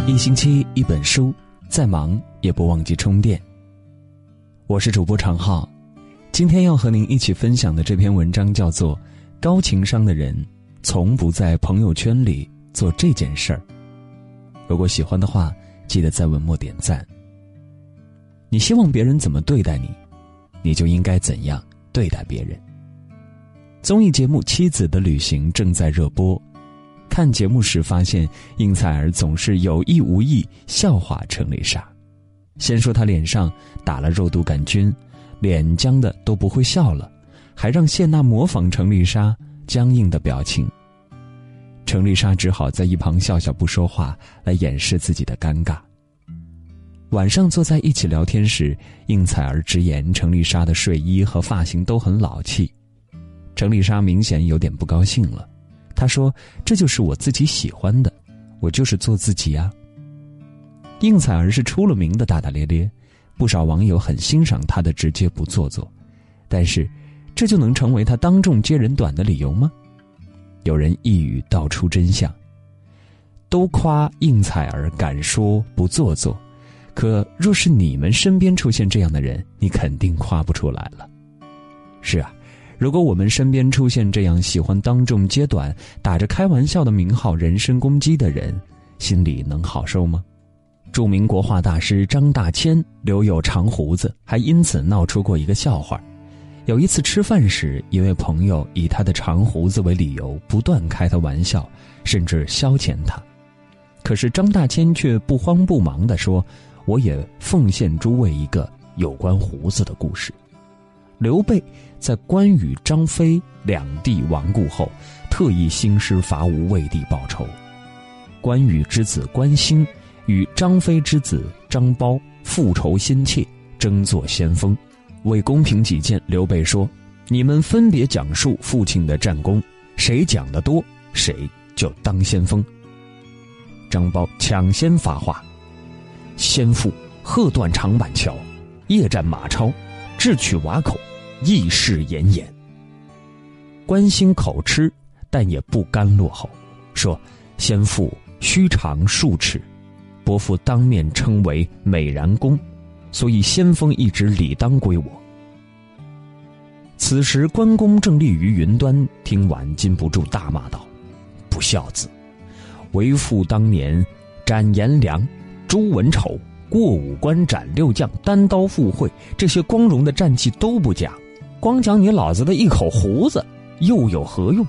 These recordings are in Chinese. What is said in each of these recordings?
一星期一本书，再忙也不忘记充电。我是主播常浩，今天要和您一起分享的这篇文章叫做《高情商的人从不在朋友圈里做这件事儿》。如果喜欢的话，记得在文末点赞。你希望别人怎么对待你，你就应该怎样对待别人。综艺节目《妻子的旅行》正在热播，看节目时发现应采儿总是有意无意笑话程丽莎。先说她脸上打了肉毒杆菌，脸僵的都不会笑了，还让谢娜模仿程丽莎僵硬的表情。程丽莎只好在一旁笑笑不说话，来掩饰自己的尴尬。晚上坐在一起聊天时，应采儿直言程丽莎的睡衣和发型都很老气。程丽莎明显有点不高兴了，她说：“这就是我自己喜欢的，我就是做自己啊。”应采儿是出了名的大大咧咧，不少网友很欣赏她的直接不做作，但是这就能成为她当众揭人短的理由吗？有人一语道出真相，都夸应采儿敢说不做作，可若是你们身边出现这样的人，你肯定夸不出来了。是啊，如果我们身边出现这样喜欢当众揭短、打着开玩笑的名号人身攻击的人，心里能好受吗？著名国画大师张大千留有长胡子，还因此闹出过一个笑话。有一次吃饭时，一位朋友以他的长胡子为理由，不断开他玩笑，甚至消遣他。可是张大千却不慌不忙地说：“我也奉献诸位一个有关胡子的故事。刘备在关羽、张飞两地亡故后，特意兴师伐吴为帝报仇。关羽之子关兴与张飞之子张苞复仇心切，争做先锋。为公平起见，刘备说：你们分别讲述父亲的战功，谁讲得多，谁就当先锋。张苞抢先发话：先父喝断长板桥，夜战马超，智取瓦口，义士严严。关兴口吃，但也不甘落后，说：先父须长数尺，伯父当面称为美髯公，所以先锋一职理当归我。此时关公正立于云端，听完禁不住大骂道：不孝子！为父当年斩颜良、诛文丑，过五关斩六将，单刀赴会，这些光荣的战绩都不讲，光讲你老子的一口胡子，又有何用？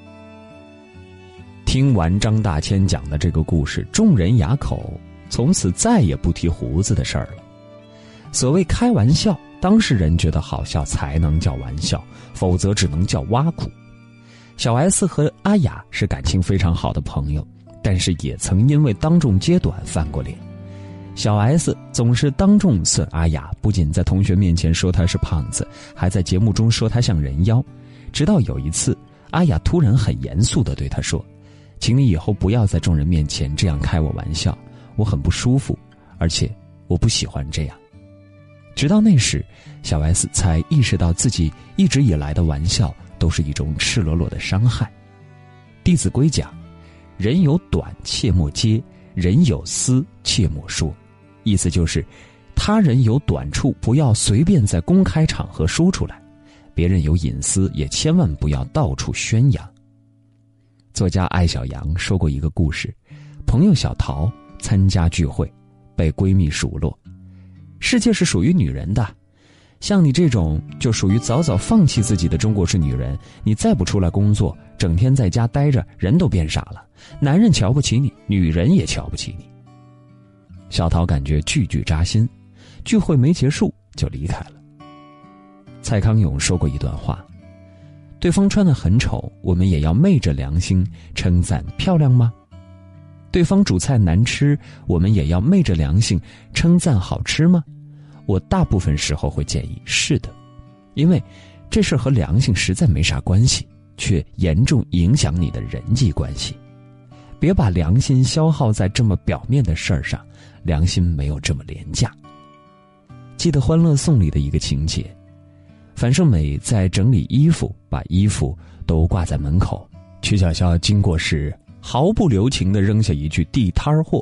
听完张大千讲的这个故事，众人哑口，从此再也不提胡子的事儿了。所谓开玩笑，当事人觉得好笑才能叫玩笑，否则只能叫挖苦。小 S 和阿雅是感情非常好的朋友，但是也曾因为当众揭短翻过脸。小 S 总是当众损阿雅，不仅在同学面前说她是胖子，还在节目中说她像人妖。直到有一次，阿雅突然很严肃地对她说：请你以后不要在众人面前这样开我玩笑，我很不舒服，而且我不喜欢这样。直到那时，小 S 才意识到自己一直以来的玩笑都是一种赤裸裸的伤害。弟子规讲：人有短切莫揭，人有私切莫说。意思就是他人有短处不要随便在公开场合说出来，别人有隐私也千万不要到处宣扬。作家艾小羊说过一个故事，朋友小桃参加聚会，被闺蜜数落：世界是属于女人的，像你这种就属于早早放弃自己的中国式女人，你再不出来工作，整天在家待着，人都变傻了，男人瞧不起你，女人也瞧不起你。小桃感觉句句扎心，聚会没结束就离开了。蔡康永说过一段话：对方穿得很丑，我们也要昧着良心称赞漂亮吗？对方煮菜难吃，我们也要昧着良心称赞好吃吗？我大部分时候会建议是的，因为这事和良心实在没啥关系，却严重影响你的人际关系。别把良心消耗在这么表面的事儿上，良心没有这么廉价。记得《欢乐颂》里的一个情节，樊胜美在整理衣服，把衣服都挂在门口，曲筱绡经过时毫不留情地扔下一句地摊货，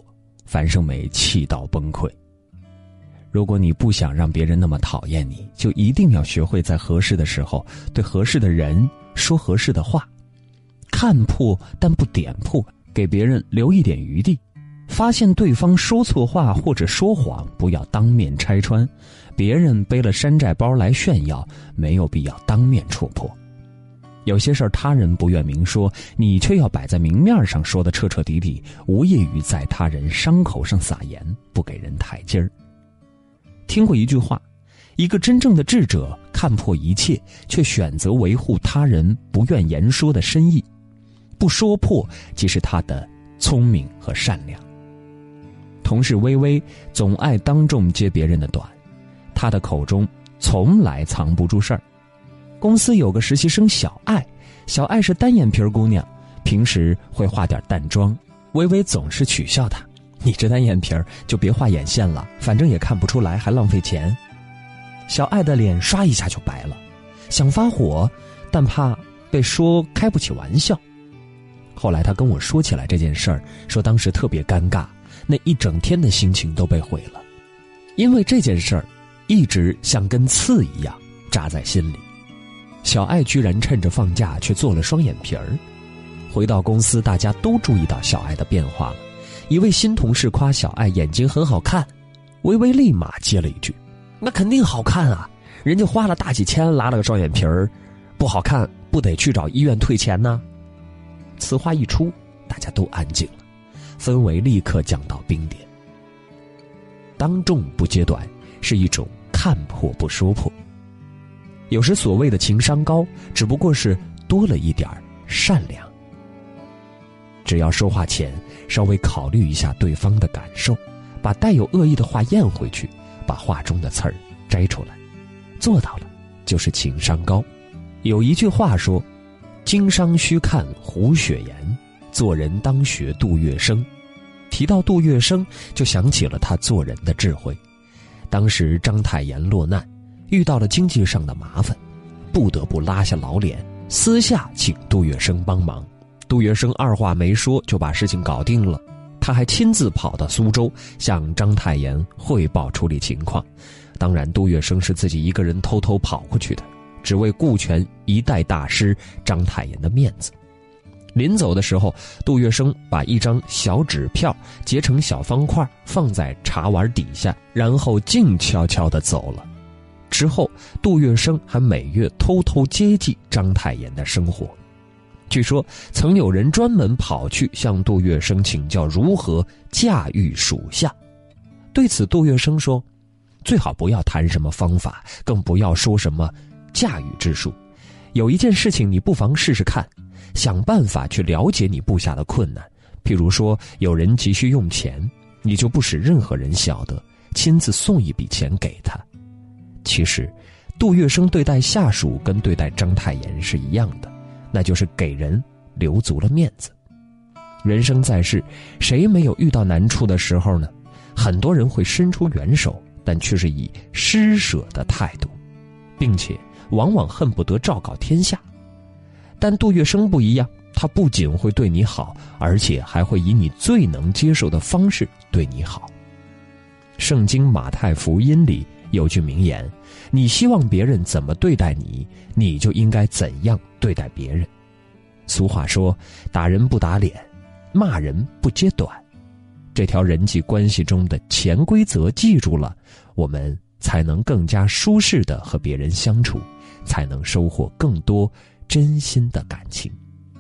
樊胜美气到崩溃。如果你不想让别人那么讨厌你，就一定要学会在合适的时候对合适的人说合适的话，看破但不点破，给别人留一点余地。发现对方说错话或者说谎，不要当面拆穿。别人背了山寨包来炫耀，没有必要当面戳破。有些事儿他人不愿明说，你却要摆在明面上说得彻彻底底，无异于在他人伤口上撒盐，不给人台阶儿。听过一句话，一个真正的智者看破一切，却选择维护他人不愿言说的深意，不说破即是他的聪明和善良。同事微微总爱当众揭别人的短，他的口中从来藏不住事儿。公司有个实习生小爱，小爱是单眼皮姑娘，平时会化点淡妆，微微总是取笑她，你这单眼皮就别画眼线了，反正也看不出来，还浪费钱。小爱的脸刷一下就白了，想发火，但怕被说开不起玩笑。后来他跟我说起来这件事儿，说当时特别尴尬，那一整天的心情都被毁了，因为这件事儿一直像根刺一样扎在心里。小爱居然趁着放假去做了双眼皮儿。回到公司，大家都注意到小爱的变化了。一位新同事夸小爱眼睛很好看，微微立马接了一句：那肯定好看啊，人家花了大几千拉了个双眼皮儿，不好看不得去找医院退钱呢？此话一出，大家都安静了，氛围立刻降到冰点。当众不揭短是一种看破不说破。有时所谓的情商高，只不过是多了一点善良。只要说话前稍微考虑一下对方的感受，把带有恶意的话咽回去，把话中的刺儿摘出来，做到了就是情商高。有一句话说，经商须看胡雪岩，做人当学杜月笙。提到杜月笙，就想起了他做人的智慧。当时章太炎落难，遇到了经济上的麻烦，不得不拉下老脸，私下请杜月笙帮忙。杜月笙二话没说就把事情搞定了，他还亲自跑到苏州向章太炎汇报处理情况。当然杜月笙是自己一个人偷偷跑过去的，只为顾全一代大师章太炎的面子。临走的时候，杜月笙把一张小纸票截成小方块放在茶碗底下，然后静悄悄地走了。之后杜月笙还每月偷偷接济章太炎的生活。据说曾有人专门跑去向杜月笙请教如何驾驭属下。对此杜月笙说，最好不要谈什么方法，更不要说什么驾驭之术。有一件事情你不妨试试看，想办法去了解你部下的困难。譬如说有人急需用钱，你就不使任何人晓得，亲自送一笔钱给他。其实杜月笙对待下属跟对待章太炎是一样的，那就是给人留足了面子。人生在世，谁没有遇到难处的时候呢？很多人会伸出援手，但却是以施舍的态度，并且往往恨不得昭告天下。但杜月笙不一样，他不仅会对你好，而且还会以你最能接受的方式对你好。圣经马太福音里有句名言，你希望别人怎么对待你，你就应该怎样对待别人。俗话说，打人不打脸，骂人不揭短。这条人际关系中的潜规则记住了，我们才能更加舒适地和别人相处，才能收获更多真心的感情。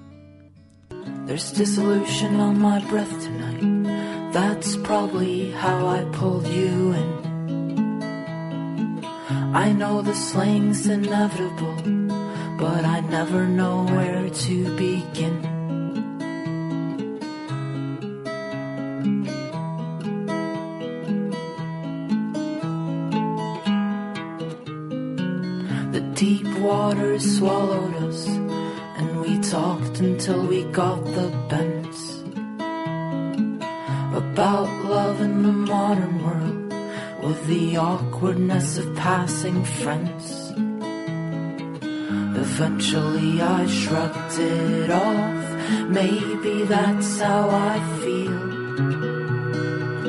There's dissolution on my breath tonight. That's probably how I pulled you in. I know the sling's inevitable, but I never know where to begin. The deep waters swallowed us, and we talked until we got the bends about love in the modern world, with the awkwardness of passing friends. Eventually I shrugged it off, maybe that's how I feel.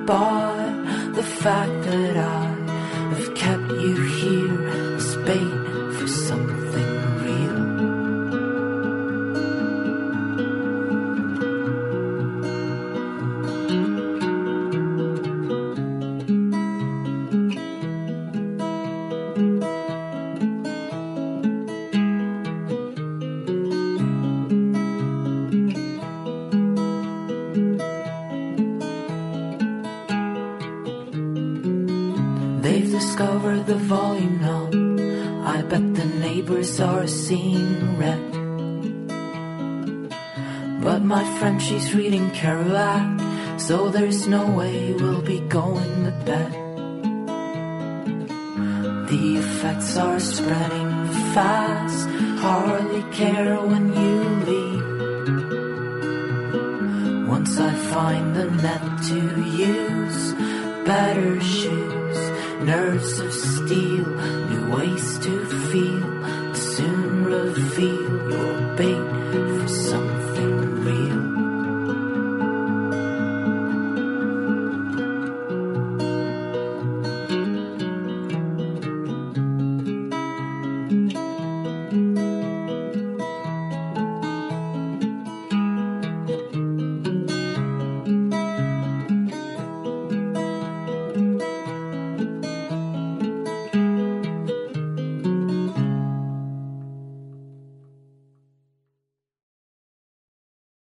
by the fact that I have kept you here as bait for something real. They've discovered the volume knob. I bet the neighbors are seeing red. But my friend, she's reading Kerouac, so there's no way we'll be going to bed. The effects are spreading fast, hardly care when you leave. Once I find a net to use, better shoes, nerves of steel, new ways to